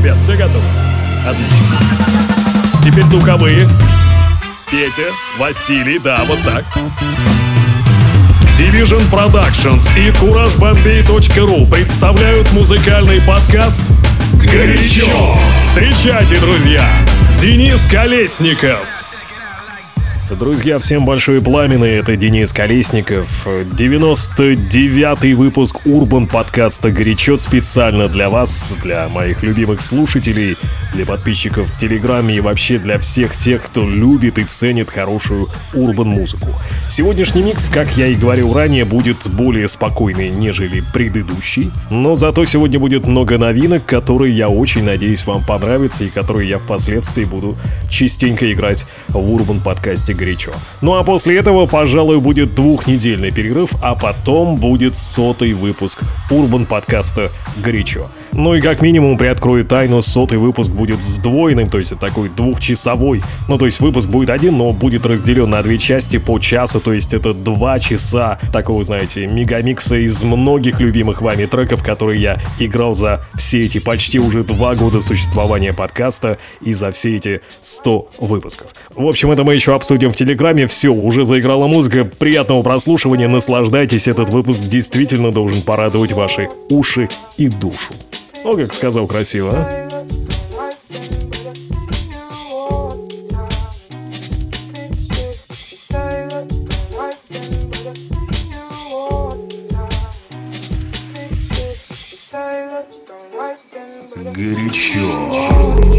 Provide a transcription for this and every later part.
ребят, все готовы? Отлично. Теперь духовые. Петя, Василий, да, вот так. Division Productions и CourageBombay.ru представляют музыкальный подкаст «Горячо». Встречайте, друзья, Денис Колесников. Друзья, всем большое пламя, это Денис Колесников. 99-й выпуск Урбан подкаста «Горячо» специально для вас, для моих любимых слушателей, для подписчиков в Телеграме и вообще для всех тех, кто любит и ценит хорошую урбан-музыку. Сегодняшний микс, как я и говорил ранее, будет более спокойный, нежели предыдущий, но зато сегодня будет много новинок, которые, я очень надеюсь, вам понравятся и которые я впоследствии буду частенько играть в урбан подкасте «Горячо». Ну а после этого, пожалуй, будет двухнедельный перерыв, а потом будет 100-й выпуск урбан подкаста «Горячо». Ну и как минимум приоткрою тайну, 100-й выпуск будет сдвоенным, то есть это такой двухчасовой. Ну то есть выпуск будет один, но будет разделен на две части по часу, то есть это 2 часа такого, знаете, мегамикса из многих любимых вами треков, которые я играл за все эти почти уже 2 года существования подкаста и за все эти 100 выпусков. В общем, это мы еще обсудим в Телеграме. Все, уже заиграла музыка, приятного прослушивания, наслаждайтесь, этот выпуск действительно должен порадовать ваши уши и душу. О, как сказал красиво, а? Горячо.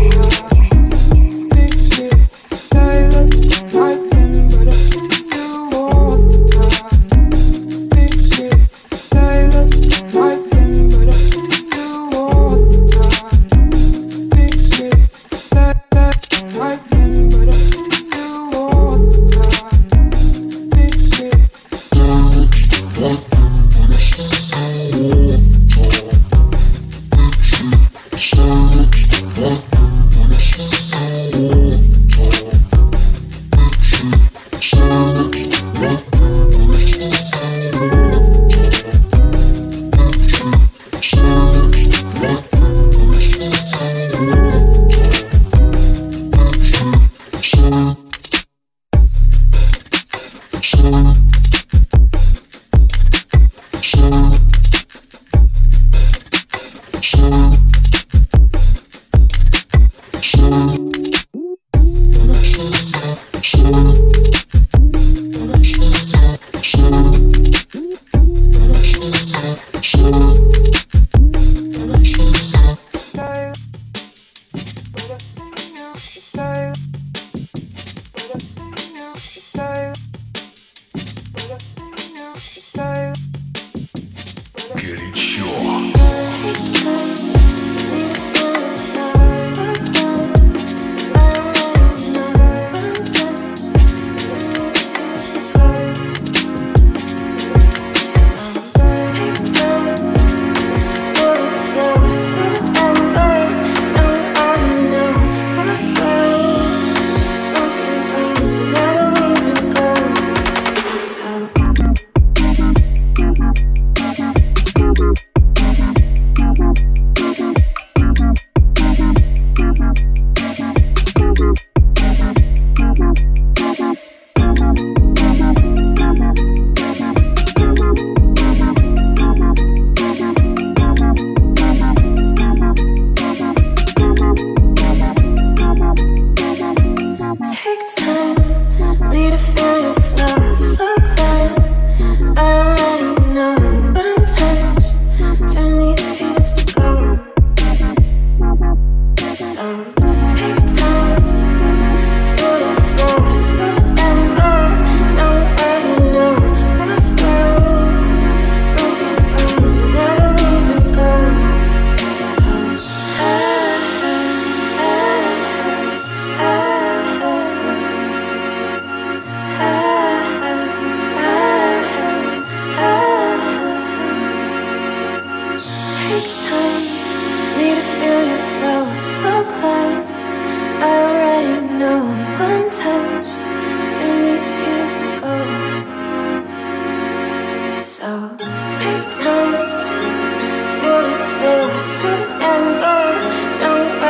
So take time, feel it, feel it, and go. Don't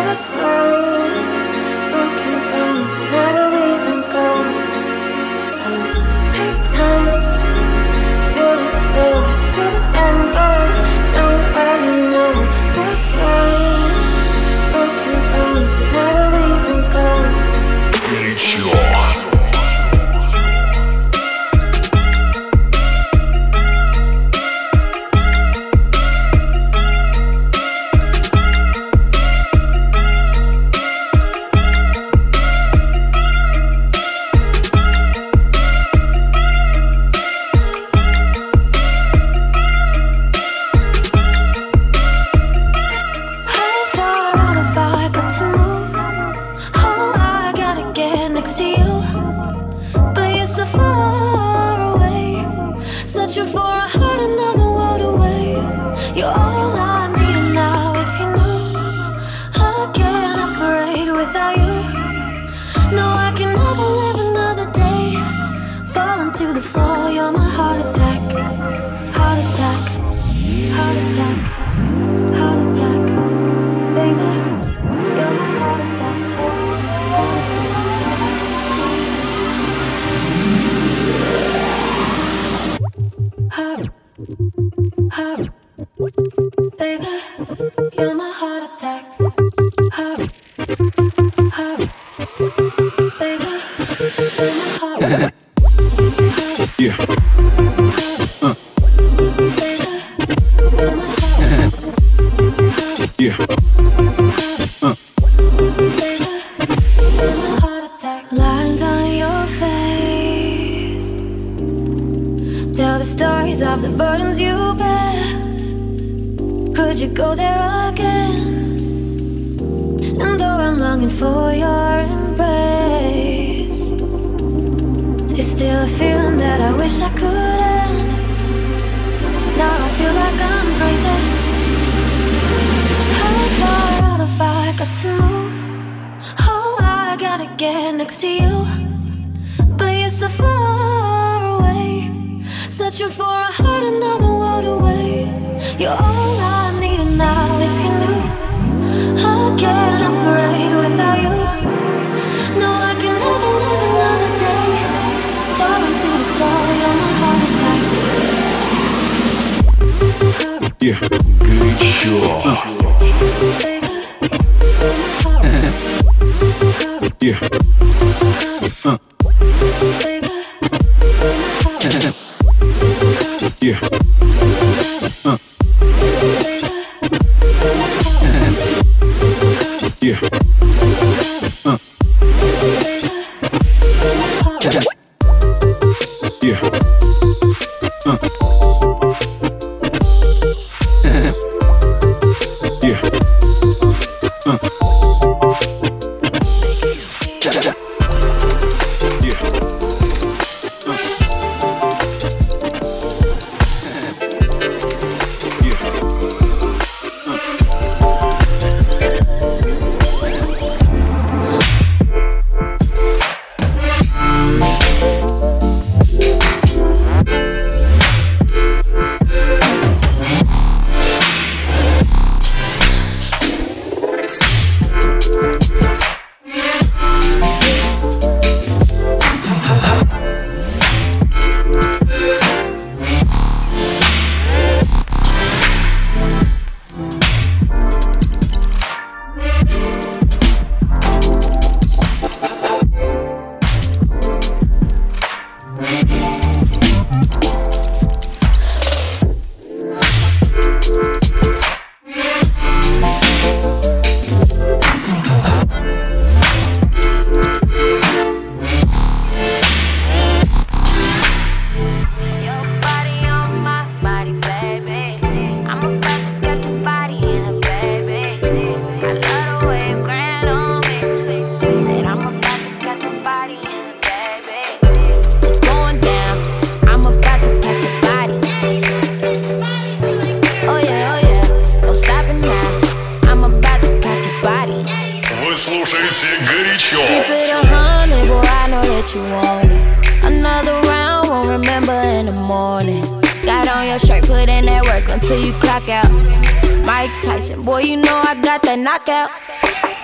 Until you clock out. Mike Tyson, boy, you know I got that knockout.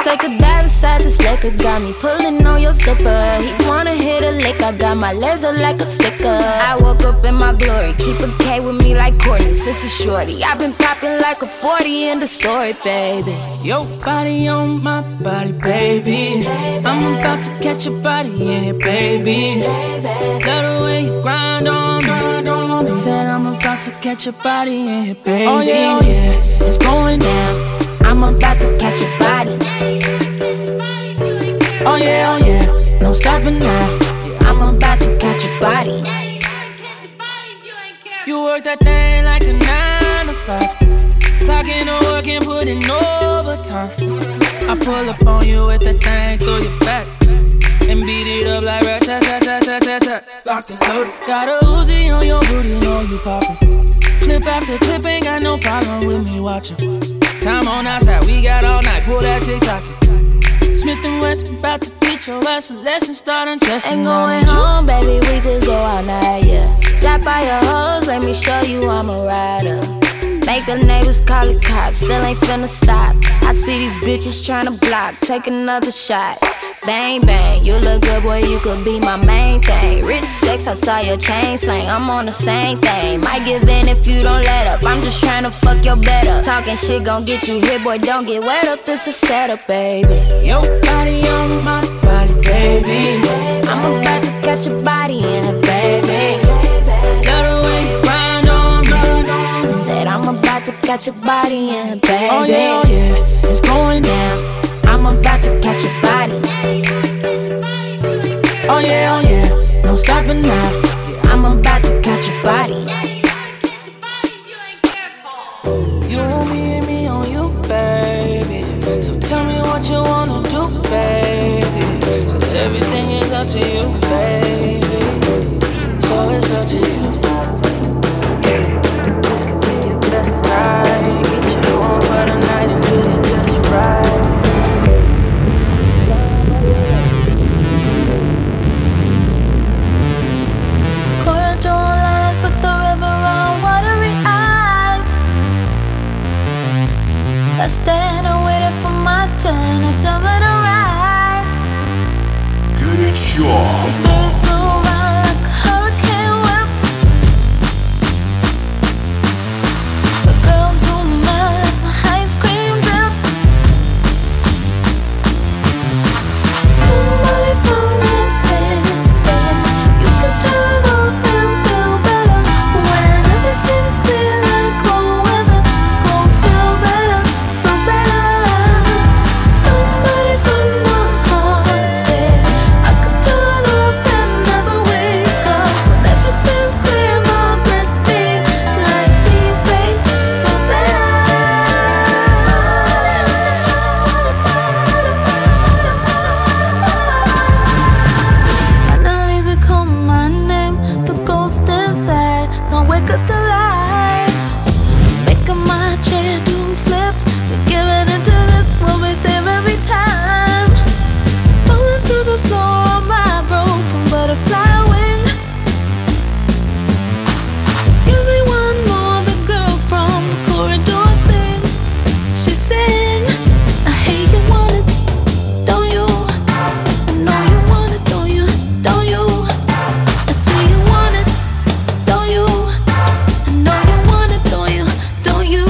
take a dive inside this liquor. Got me pulling on your zipper. He wanna hit a lick, I got my legs up like a sticker. I woke up in my glory, keep a K with me like Courtney, sister shorty. I've been popping like a 40 in the story, baby. Your body on my body, baby. I'm about to catch your body in here, baby. Love the way you grind on me. Said I'm about to catch your body in here, baby. Oh yeah, oh yeah, it's going down. I'm about to catch your body. Oh yeah, no stopping now. I'm about to catch your body. You work that thing like a 9 to 5. Clocking the work and putting overtime. I pull up on you with that thing through your back and beat it up like rat-tat-tat-tat-tat-tat. Locked and loaded. Got a Uzi on your booty, know you poppin'. Clip after clip, ain't got no problem with me watching. Time on outside, we got all night, pull that TikTok. Smith & Wesson, about to teach your ass a lesson, start undressing. Ain't going home, baby, we could go all night, yeah. Drop by your hoes, let me show you I'm a rider. Make the neighbors call the cops, still ain't finna stop. I see these bitches tryna block, take another shot. Bang, bang, you look good, boy, you could be my main thing. Rich sex, I saw your chain slang, I'm on the same thing. Might give in if you don't let up, I'm just tryna fuck your bed up. Talking shit gon' get you hit, boy, don't get wet up, this is setup, baby. Your body on my body, baby. I'm about to catch your body in it, baby. Love the way you grind on me. Said I'm about to catch your body in it, baby. Oh yeah, it's going down. I'm about to catch your body. Oh yeah, no stopping now. I'm about to catch your body. You want me and me on you, baby. So tell me what you wanna do, baby. So everything is up to you, baby. So it's up to you. Get you on for the night and do it just right. I stand and waiting for my turn to tell me to rise. Горячо. The spirits blow around like a hurricane whip. The girls who melt like my ice cream drip. Somebody from this stand said you can turn off and feel better when everything's clear like cold weather. Go feel better. Somebody from my heart said I could turn off and never wake up. When everything's clear, my breath beat lets me fade for better. Finally they call my name, the ghost inside can't wake us to life. Making my chair do flips, we're giving into this what we save every time. Falling through the floor on my broken butterfly wing. Give me one more, the girl from the corridor sing. She sang, I hate you want it, don't you? I know you want it, don't you? Don't you? I see you want it, don't you? I know you want it, don't you? Don't you?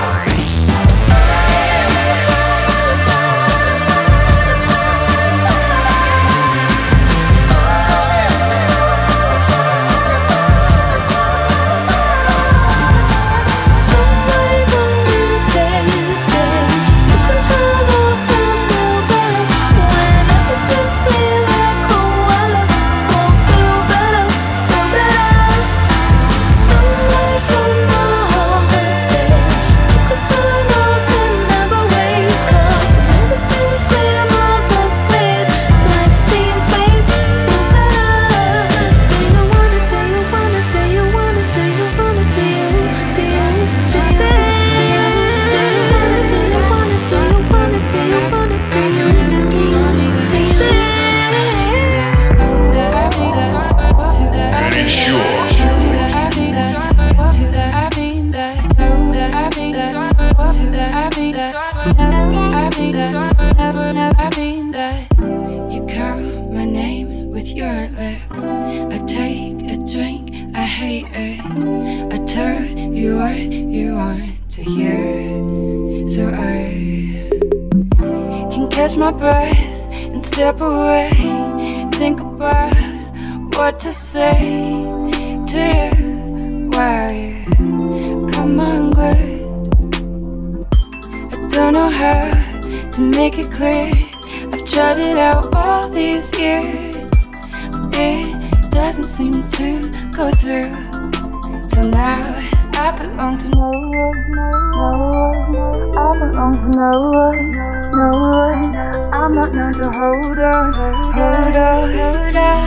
Somebody from this day said you can turn off and feel better when everything's clear like cold weather. Go feel better, feel better. Somebody from my heart said you can turn off and never wake up. When everything's clear, my breath fade like steam fade. Feel better. Do you want it? Do you want it? Do you want it? Do you want it? Do you? Do you? She said, do you want it? Do you want it? Do you want it? Do you want it? Do you? She said. Горячо. with your lip. I take a drink, I hate it. I tell you what you want to hear. So I can catch my breath and step away. Think about what to say to you. Why you come unglued? I don't know how to make it clear. I've tried it out all these years, but it doesn't seem to go through. Till now, I belong to no one, no one. I belong to no one, no one. I'm not known to hold on, hold on, hold on.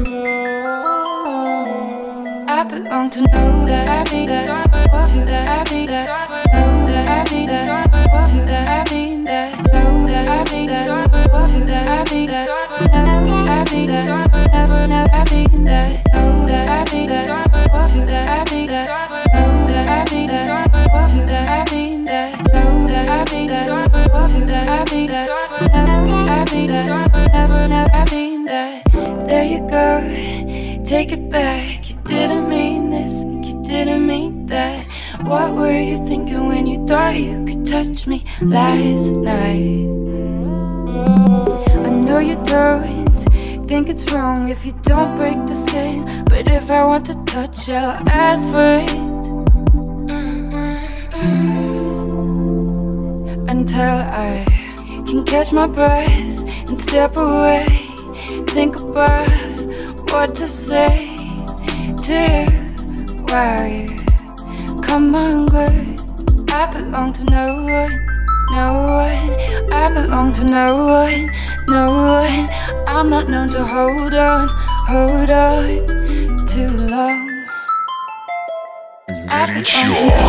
I belong to know that I mean that, to that I mean that, know that I mean that, to that I mean that, know that I mean that, to that I mean that, I mean that, never know I mean that, know that I mean that, to that I mean that, know that I mean that, to that I mean that, know that I mean that, to that I mean that, I mean that, never know I mean that. There you go, take it back. You didn't mean this, you didn't mean that. What were you thinking when you thought you could touch me last night? I know you don't think it's wrong if you don't break the skin, but if I want to touch, I'll ask for it. Until I can catch my breath and step away. Think about what to say to you. Why you come unglued? I belong to no one, no one. I belong to no one, no one. I'm not known to hold on too long. Горячо.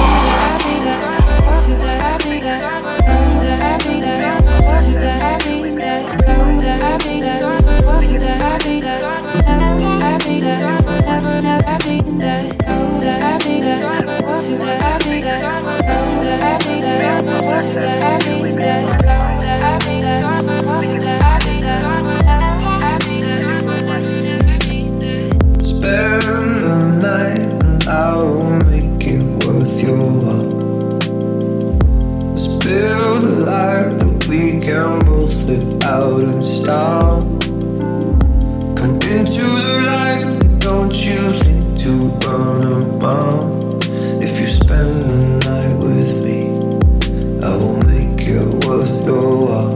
Spend the night and I will make it worth your while. Let's build a life that we can both live out in style. Come into the light, don't you think to run a mile. If you spend the night with me, I will make it worth your while.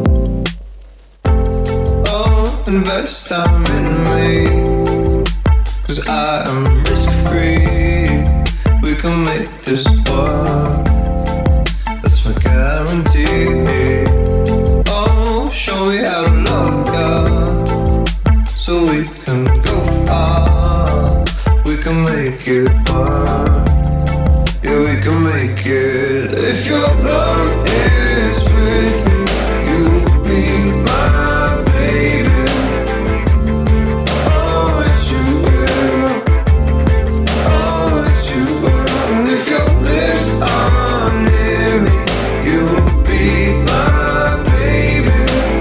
Oh, invest time in me, 'cause I am risk-free. We can make this work, that's my guarantee. Oh, show me how to love God, so we can go far. We can make it work, yeah, we can make it. If your love is with me, you'll be my baby. If your lips are near me, you will be my baby.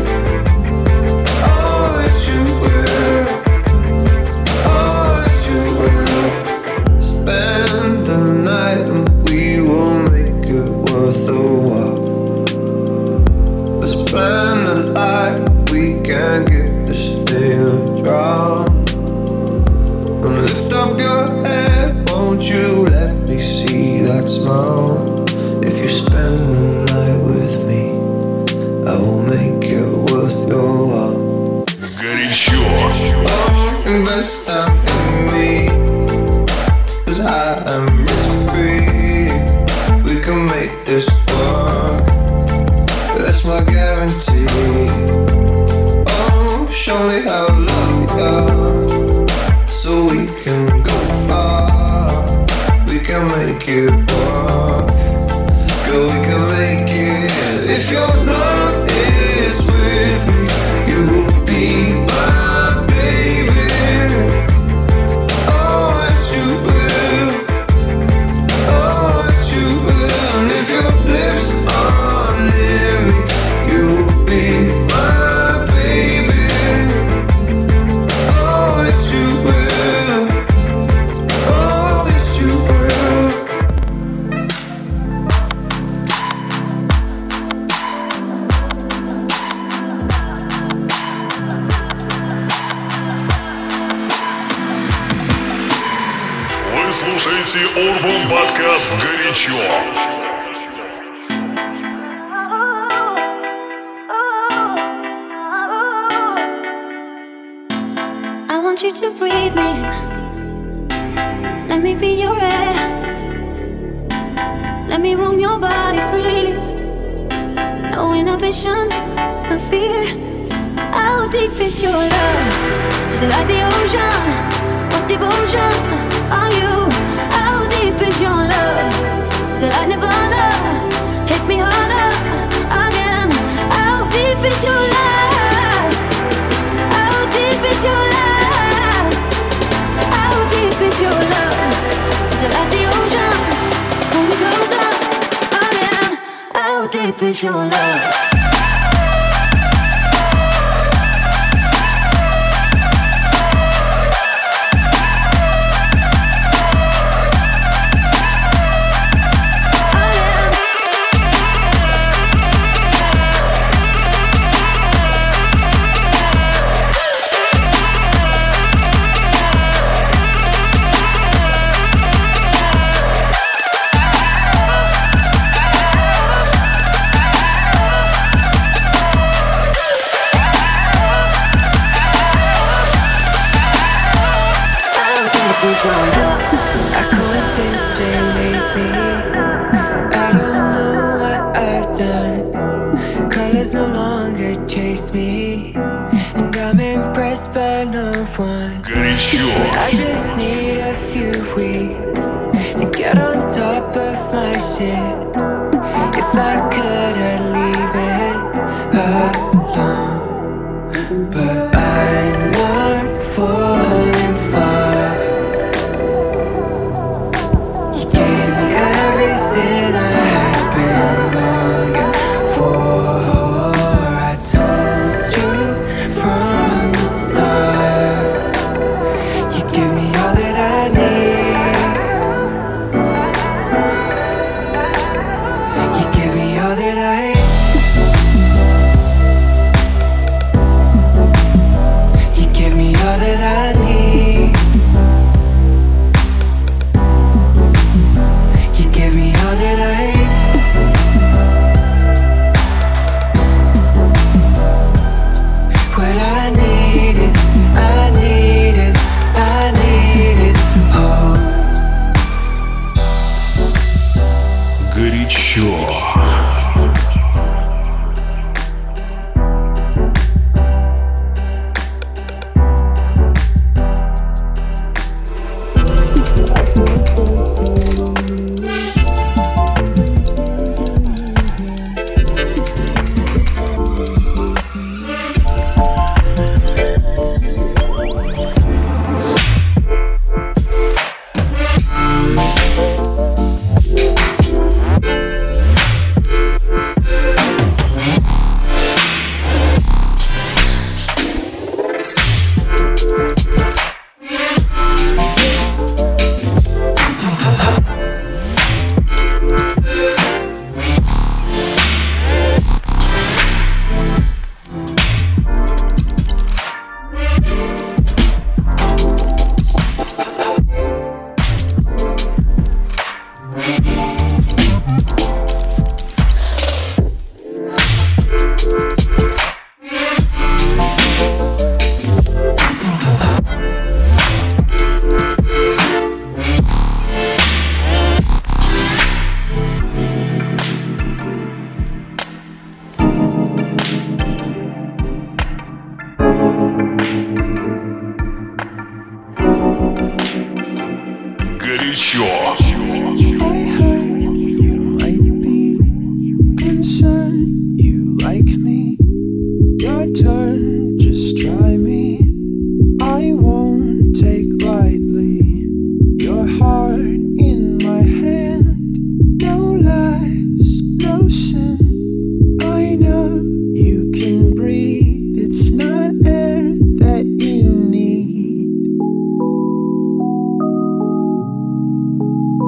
Oh, yes you will. Oh, yes you will. Spend the night and we will make it worth a while. Let's plan a life we can get this thing dry. And lift up your head, won't you let me see that smile? If you spend the night with me, I will make it worth your while. Горячо. Oh, invest time in me, 'cause I am risk-free. We can make this work, that's my guarantee. Oh, show me how love you got, so we can go far. We can make it work, girl, we can make it. If your love is with me, you will be my baby. Oh, yes you will. Oh, yes you will. And if your lips are near me, you will be my baby. слушаете Urban Podcast «Горячо». I want you to breathe me. Let me be your air. Let me roam your body freely. No inhibition, no fear. How deep is your love? Is it like the ocean? What devotion are you? How deep is your love? Till I Nirvana, hit me harder again. How deep is your love? How deep is your love? How deep is your love? Is it like the ocean? Pull me closer again. How deep is your love? I caught this straight lately. I don't know what I've done. Colors no longer chase me, and I'm impressed by no one. Горячо. I just need a few weeks to get on top of my shit. If I could, I'd leave it alone, but I'm not falling far. Everything I had been longing for, I told you from the start. You give me all that I need. You give me all that I need. You give me all that I need. Give me all that I hate. What I need is, I need is, I need is hope. Горячо. Горячо. I heard you might be concerned you like me. Your turn, just try me. I won't take lightly your heart in my hand. No lies, no sin. I know you can breathe. It's not air that you need.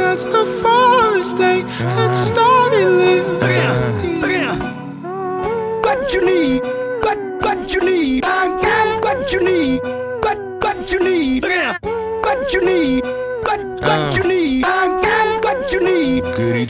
that's the forest they had started living. What you need, what you need, I got what you need, what you need, what you need, what you need, I got what you need.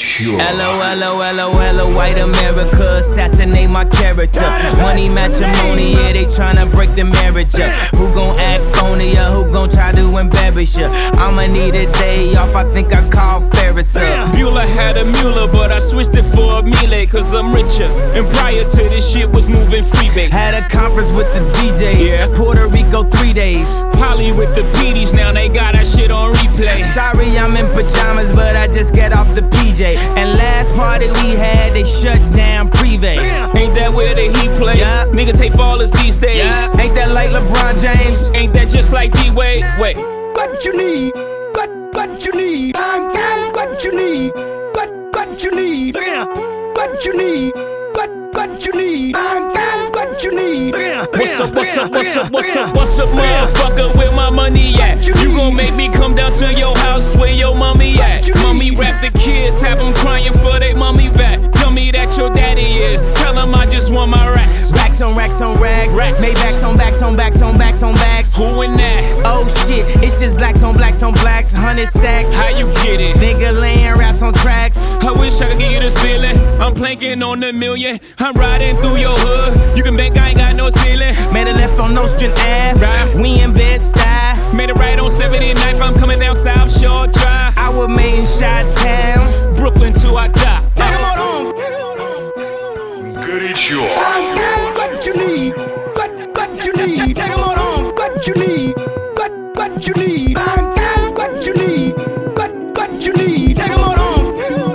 LOL, white America, assassinate my character. Money matrimony, yeah, they tryna break the marriage up. Who gon' act phony, who gon' try to embarrass ya? I'ma need a day off, I think I call Ferris up. Bueller had a Mueller, but I switched it for a Miele, cause I'm richer. And prior to this shit was moving freebase. Had a conference with the DJs, yeah. Puerto Rico 3 days. Polly with the PDs, now they got that shit on replay. Sorry, I'm in pajamas, but I just get off the PJ. And last party we had, they shut down Privé. Ain't that where the Heat play? Yeah. Niggas hate ballers these days. Yeah. Ain't that like LeBron James? Ain't that just like D-Wade? Wait. What you need, what you need, I got what you need, what you need, what you need, what you need, I got what you need. What's up, motherfucker, where my money at? You gon' make me come down to your house where your mommy at? Mommy rap the kids, have them crying for they mommy back. Tell me that your daddy is, tell him I just want my racks. Racks on racks on racks, Maybachs on backs on backs on backs on backs. Who in that? Oh shit, it's just blacks on blacks on blacks, 100 stack. How you get it? Nigga laying raps on tracks. I wish I could give you this feeling. I'm planking on the million. I'm riding through your hood. You can bank I ain't got no ceiling. Made a left on Nostrand Ave. Right. We in Bed-Stuy. Made a right on 79th. I'm coming down South Shore Drive. I was made in Chi-Town, Brooklyn till I die. Take 'em on home. Горячо. I got what you need, what you need. Take 'em on home. What you need, what you need. I got what you need, what you need. Take 'em on home.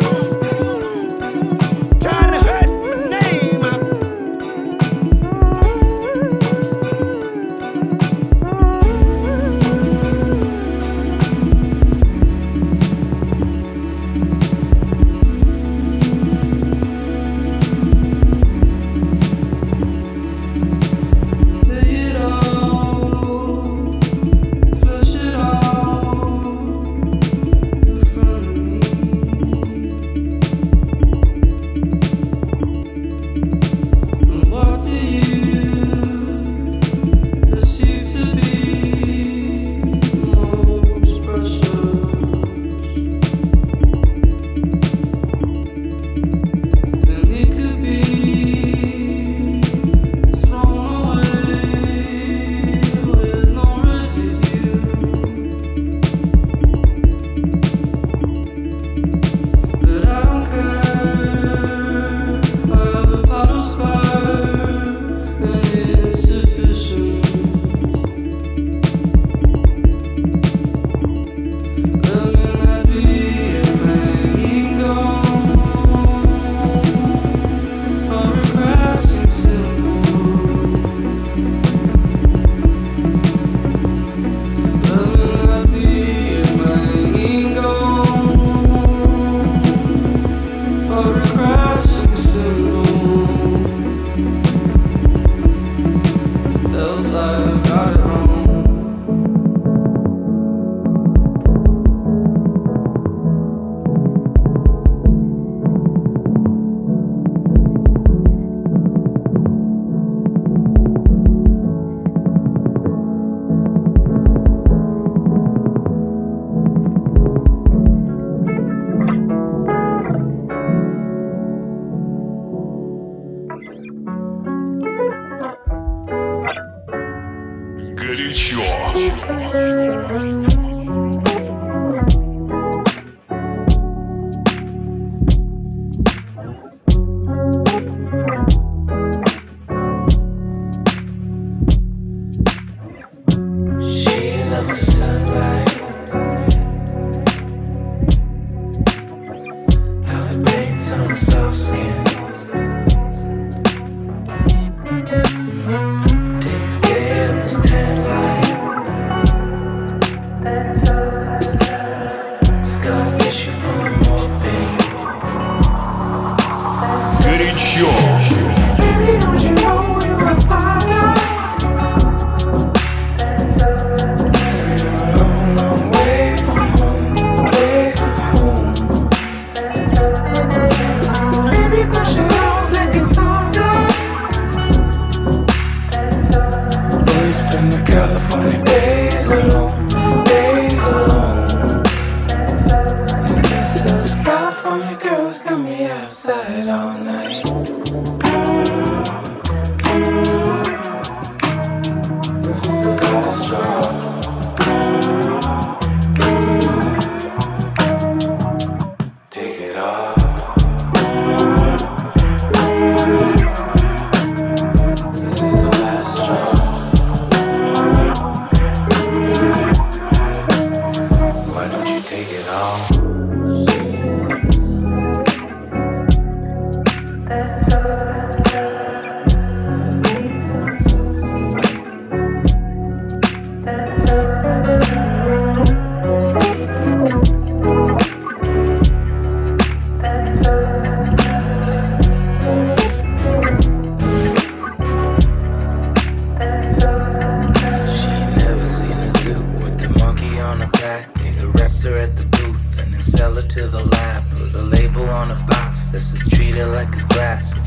Trying to hurt my name.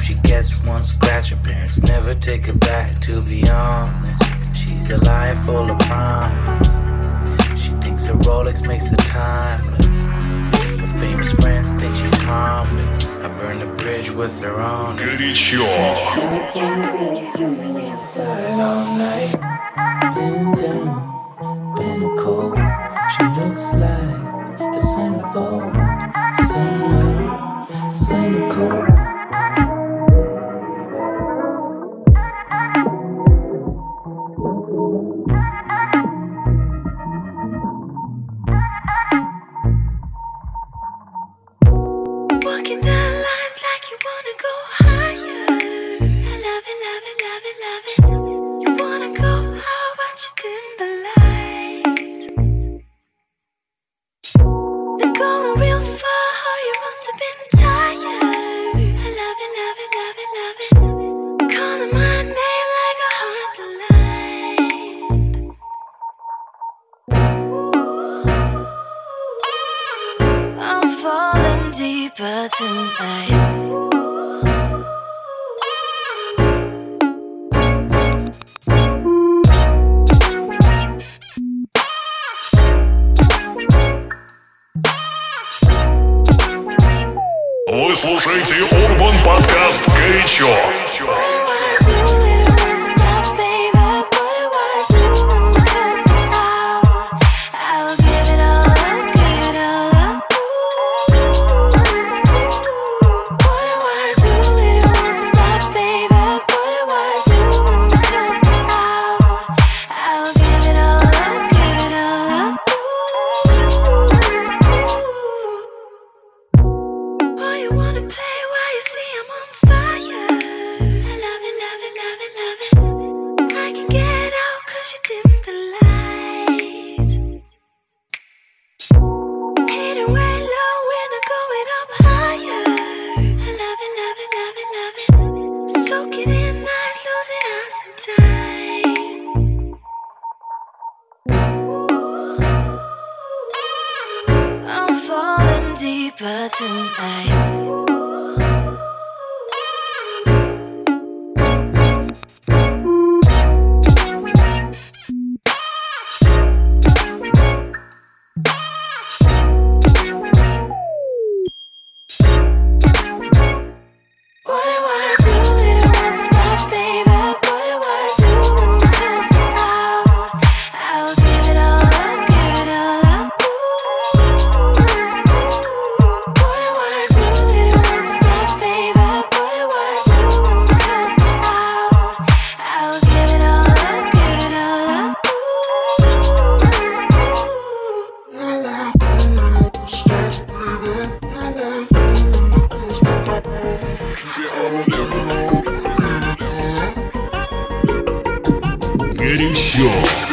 she gets one scratch, her parents never take her back. To be honest, she's a liar full of promise. She thinks her Rolex makes her timeless. Her famous friends think she's harmless. I burned the bridge with her on it. Горячо. All night, been down, been cold. She looks like a centerfold. Cynical. Walking down lines like you wanna go higher. I love it, love it, love it, love it. You wanna go how about you dim the lights? They're going real far, you must have been tired. I love it, love it, love it, love it. Calling my name like a heart's aligned. I'm falling deeper tonight. Вы слушаете Urban Podcast «Горячо». Deeper tonight. Горячо.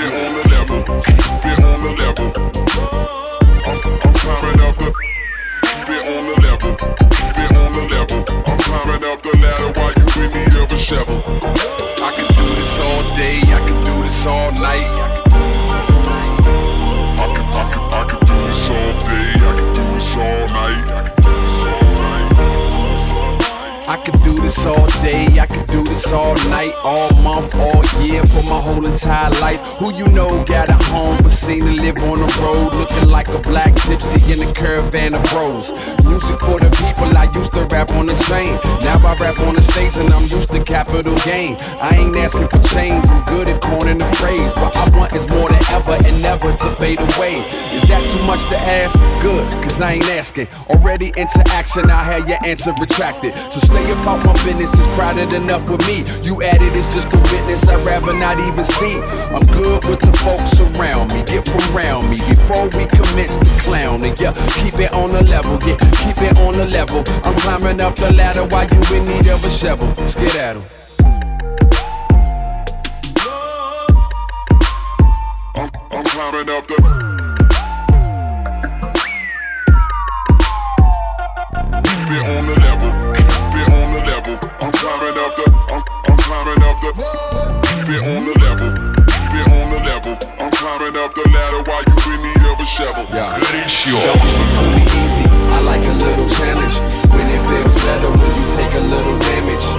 I could do this all day, I could do this all night, all month, all year, for my whole entire life. Who you know got a home but seen to live on the road, looking like a black gypsy in a caravan of bros. Music for the people, I used to rap on the train. Now I rap on the stage and I'm used to capital gain. I ain't asking for change, I'm good at coining the phrase. What I want is more than ever and never to fade away. Is that too much to ask? Good, cause I ain't asking. Already into action, I had your answer retracted. So stay about my business, it's crowded enough with me. You added it's just a witness I'd rather not even see. I'm good with the folks around me, get from round me before we commence to clowning. Yeah, keep it on the level, yeah, keep it on the level. I'm climbing up the ladder while you in need of a shovel. Let's get at 'em. I'm climbing up the. Keep it on the level, keep it on the level. I'm climbing up the. I'm climbing up the. Keep it on the level, keep it on the level. I'm climbing up the ladder while you in need of a shovel. Yeah. Don't make it too easy. I like a little challenge. When it feels better when you take a little damage.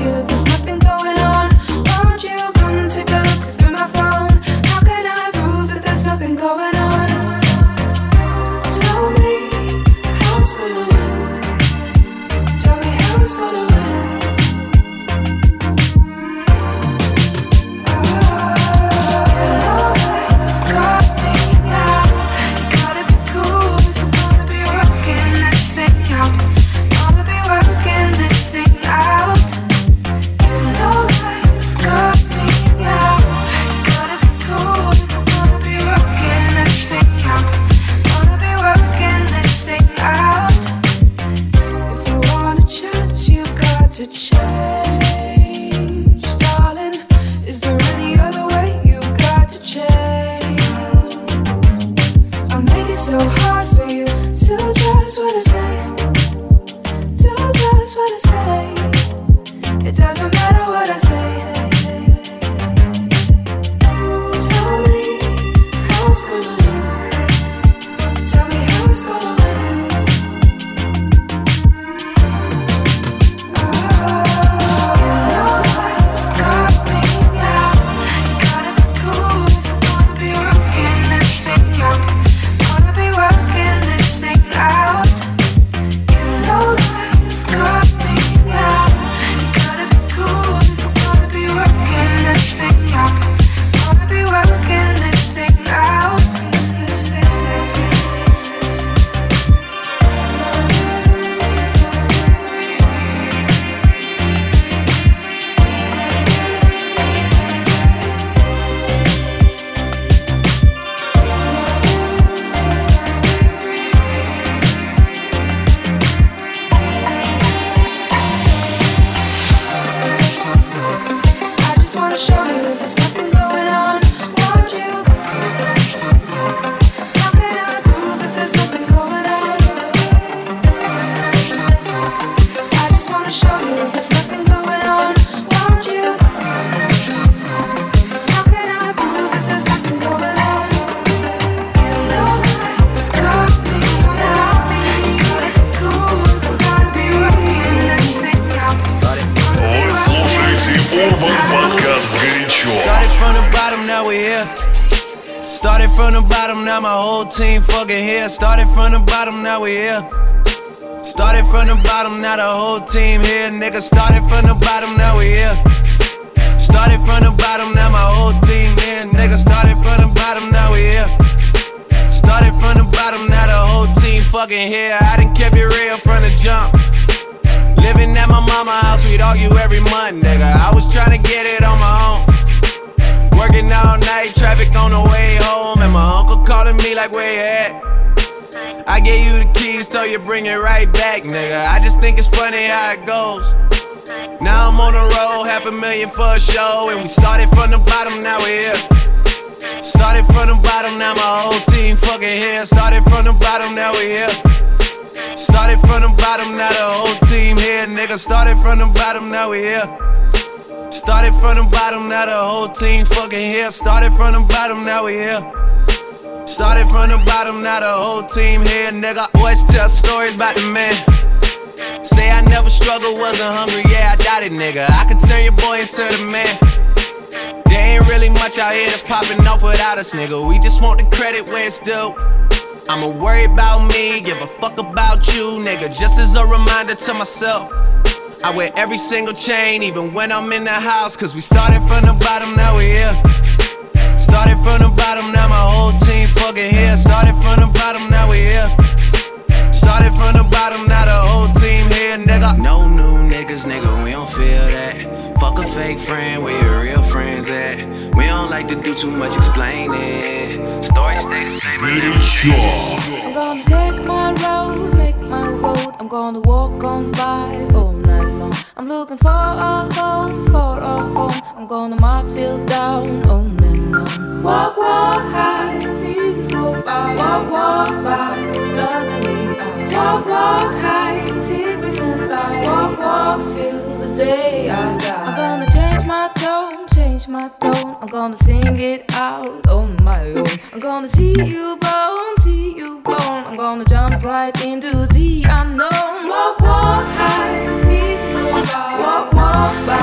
you that there's nothing going on. Won't you come take a look through my phone? How can I prove that there's nothing going on? Tell me how it's gonna end. Tell me how it's gonna end. To change, darling. Is there any other way? You've got to change. I make it so hard for you to trust what I say. To trust what I say. It doesn't matter what I say. Tell me how it's gonna end. Tell me how it's gonna end. Started from the bottom, now my whole team fucking here. Started from the bottom, now we here. Started from the bottom, now the whole team here. Nigga, started from the bottom, now we here. Started from the bottom, now my whole team here. Nigga, started from the bottom, now we here. Started from the bottom, now the whole team fucking here. I done kept it real from the jump. Living at my mama's house, we'd argue every month, nigga. I was trying to get it on my own. Working all night, traffic on the way home, and my uncle calling me like, where you at? I gave you the keys, so you bring it right back, nigga. I just think it's funny how it goes. Now I'm on the road, $500,000 for a show, and we started from the bottom, now we're here. Started from the bottom, now my whole team fucking here. Started from the bottom, now we here. Started from the bottom, now the whole team here, nigga. Started from the bottom, now we here. Started from the bottom, now the whole team fucking here. Started from the bottom, now we here. Started from the bottom, now the whole team here, nigga. Always tell stories about the man. Say I never struggled, wasn't hungry, yeah, I doubt it, nigga. I could turn your boy into the man. There ain't really much out here that's popping off without us, nigga. We just want the credit where it's due. I'ma worry about me, give a fuck about you, nigga. Just as a reminder to myself, I wear every single chain, even when I'm in the house. Cause we started from the bottom, now we here. Started from the bottom, now my whole team fucking here. Started from the bottom, now we here. Started from the bottom, now the whole team here, nigga. No new niggas, nigga, we don't feel that. Fuck a fake friend, where your real friends at? We don't like to do too much explaining. Stories stay the same. I'm gonna take my road, make my road. I'm gonna walk on by all night long. I'm looking for a home, for a home. I'm gonna march till down, on and on. Walk, walk high, see you go by. Walk, walk by, suddenly I walk high, secrets and lies. Walk till the day I die. I'm gonna change my tone, change my tone. I'm gonna sing it out on my own. I'm gonna see you blown, see you blown. I'm gonna jump right into the unknown. Walk, walk high, see you go by. Walk, walk by,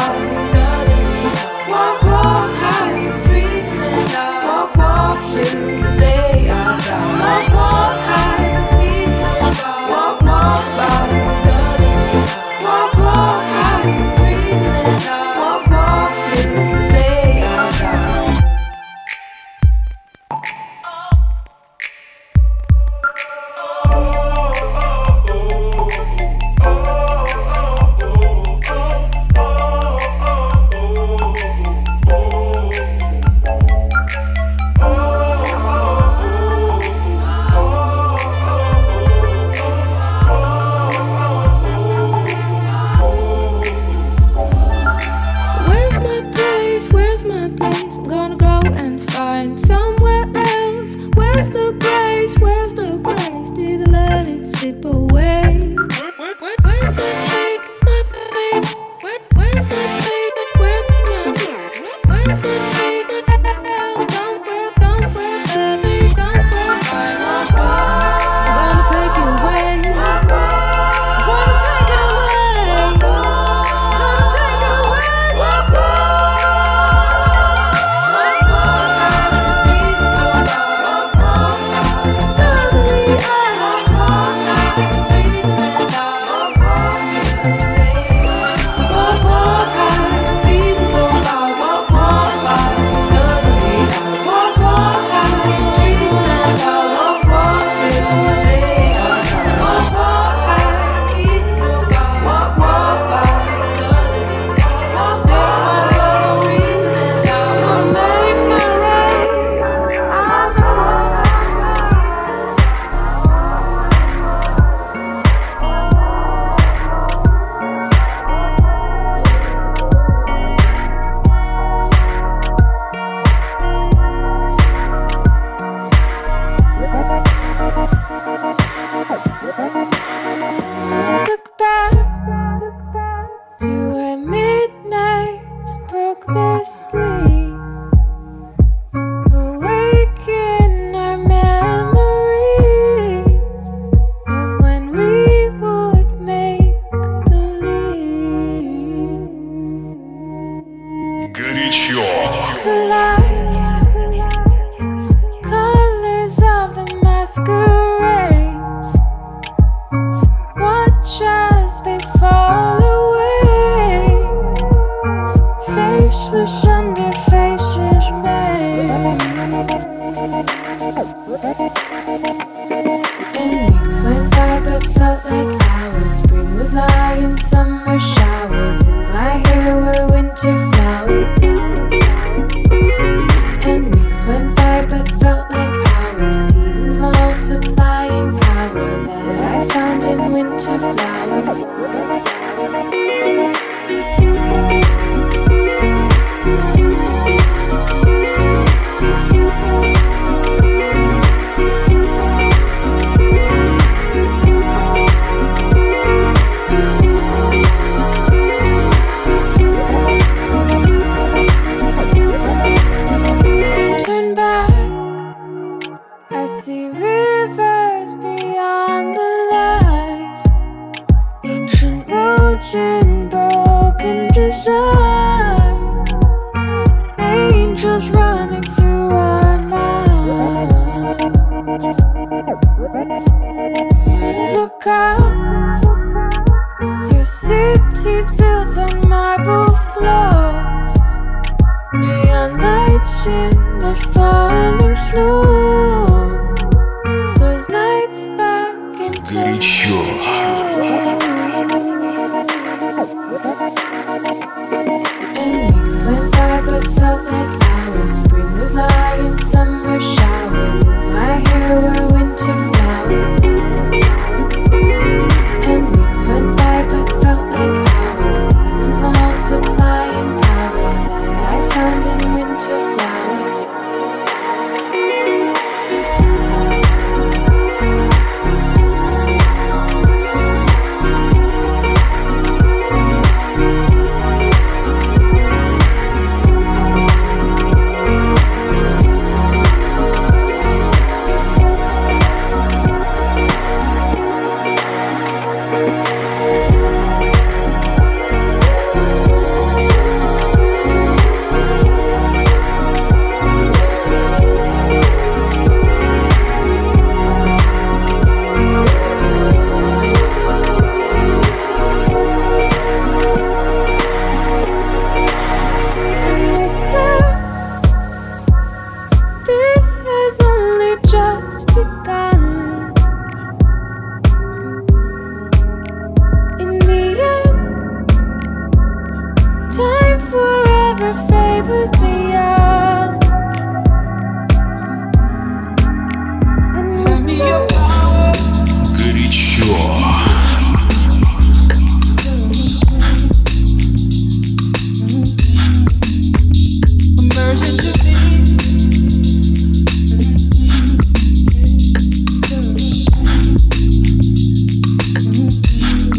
sleep, awaken our memories of when we would make believe. Горячо. Collide, colors of the masquerade. Watch as they fall away. Faceless under faces made. And weeks went by but felt like hours. Spring would lie in summer showers. In my hair were winter flowers. And weeks went by but felt like hours. Seasons multiplying power that I found in winter flowers. Turn back, I see rivers beyond the light, ancient roads in broken design, angels running through our minds. Look out, your city's built on marble floors, neon lights in the falling snow. Those nights back in Горячо. And weeks went by but felt like hours. Spring would lie in summer showers. In my hair were winter flowers. And weeks went by but felt like hours. Seasons multiplying power that I found in winter flowers. And we said, this has only just begun. In the end, time forever favors the young. Lend me your power. Горячо. Immersion to me.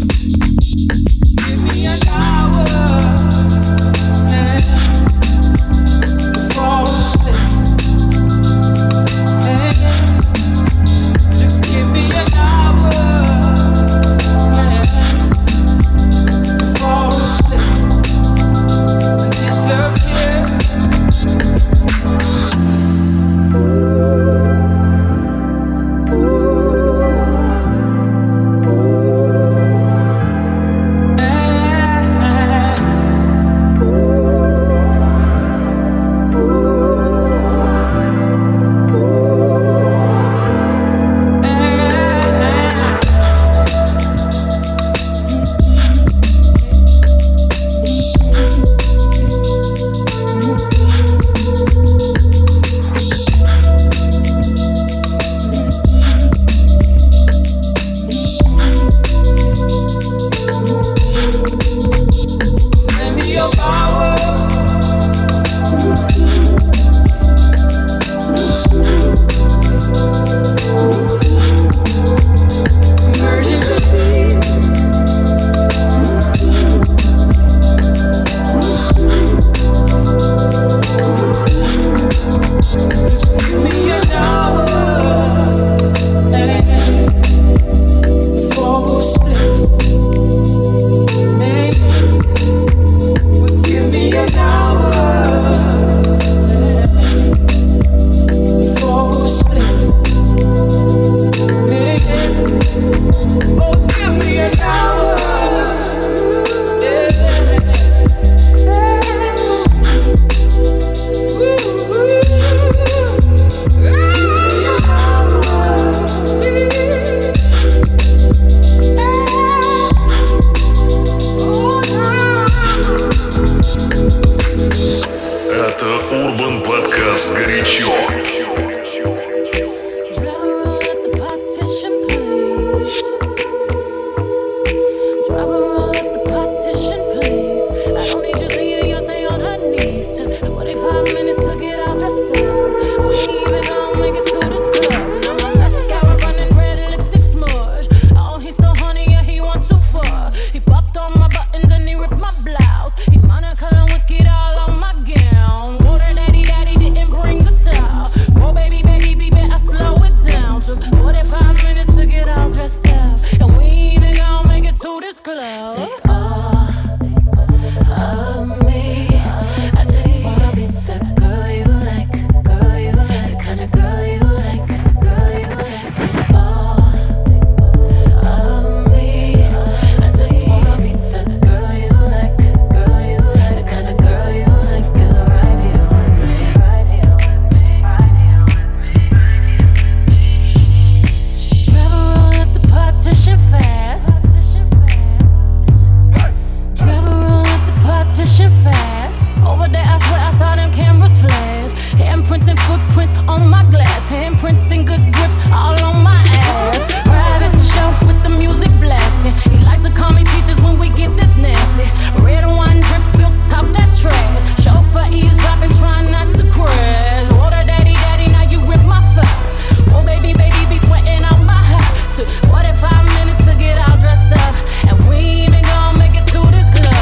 Give me an hour. and footprints on my glass, handprints and good grips all on my ass. Private show with the music blasting. He like to call me peaches when we get this nasty. Red wine drip, built top that trash. Chauffeur eavesdropping, trying not to crash. Water daddy, daddy, now you rip my fur. Oh baby, baby, be sweating out my hair. Took 45 minutes to get all dressed up, and we ain't even gonna make it to this club.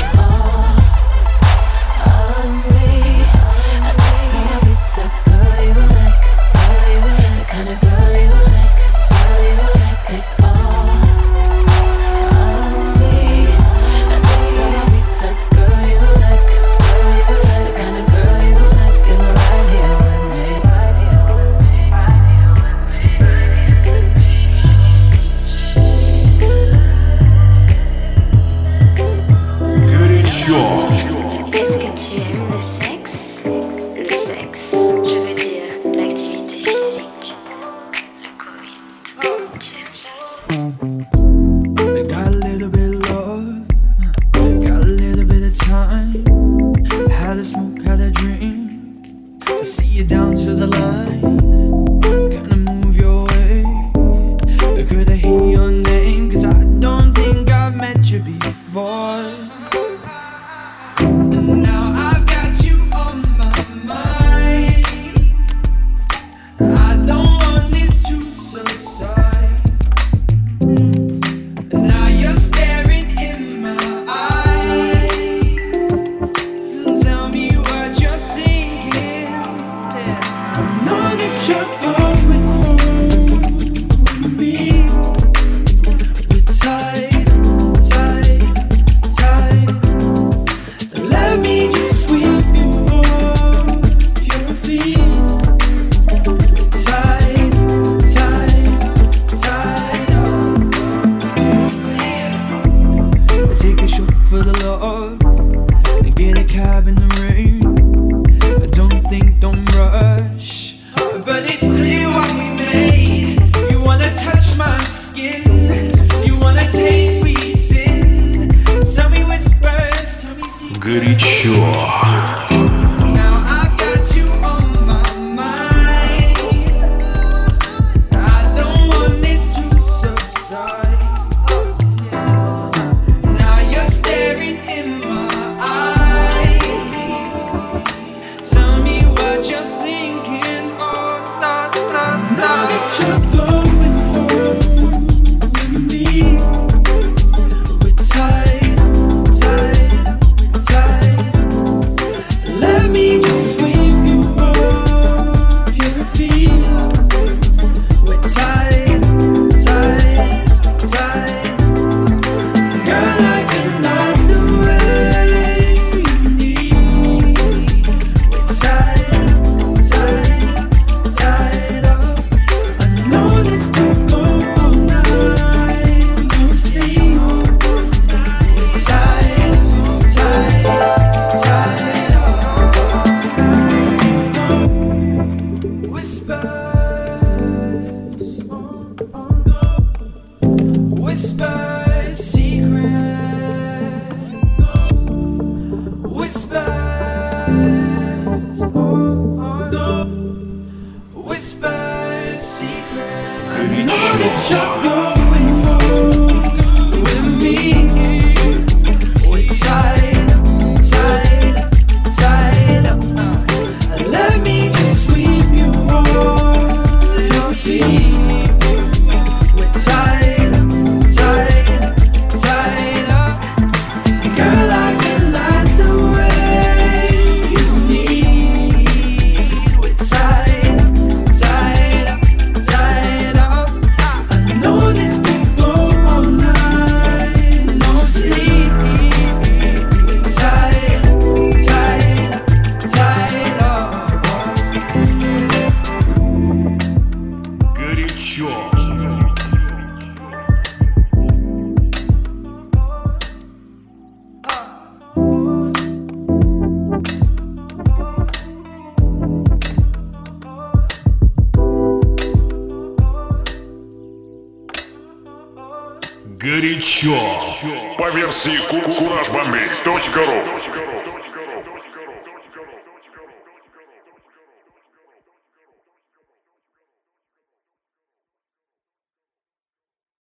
Est-ce que tu aimes le sexe? Le sexe, je veux dire l'activité physique. Le Covid. Tu aimes ça? Got a little bit of love, got a little bit of time. Had a smoke, had a drink. I see you down to the line. Gonna move your way. Could I hear your name? Cause I don't think I've met you before. Now I've got you on my mind. I don't want this to subside. Now you're staring in my eyes and tell me what you're thinking. I know that you're going home with me. We're tight, tight, tight. Let me just sweep you off your feet. Tight, tight, tight. I take a shot for the love and get a cab in the rain. I don't think, don't rush, but it's clear what we made. You wanna touch my skin, you wanna taste sweet sin. Tell me whispers, tell me secrets. Горячо. Now I've got you on my mind. I don't want this to subside. Now you're staring in my eyes. Tell me what you're thinking. Oh, nah, nah, nah. Now that you're going home with me. We're tight, tight, tight. Let me just sweep you off your feet. We're tight, tight, tight. Girl, I can like the way you need. We're tight, tight, tight. I know this could go all night. No sleep. We're tight, tight, tight. Whispers, whispers, secrets. Whispers, whispers, secrets. I know that you're going home with me. We're tight, tight, tight. Let me just sweep you off your feet. We're tight, tight, tight. Girl, I can like the way you need. We're tight, tight, tight. I know this could go all night. No sleep. We're tight, tight, tight. Горячо. Горячо. По версии CourageBombay.ru.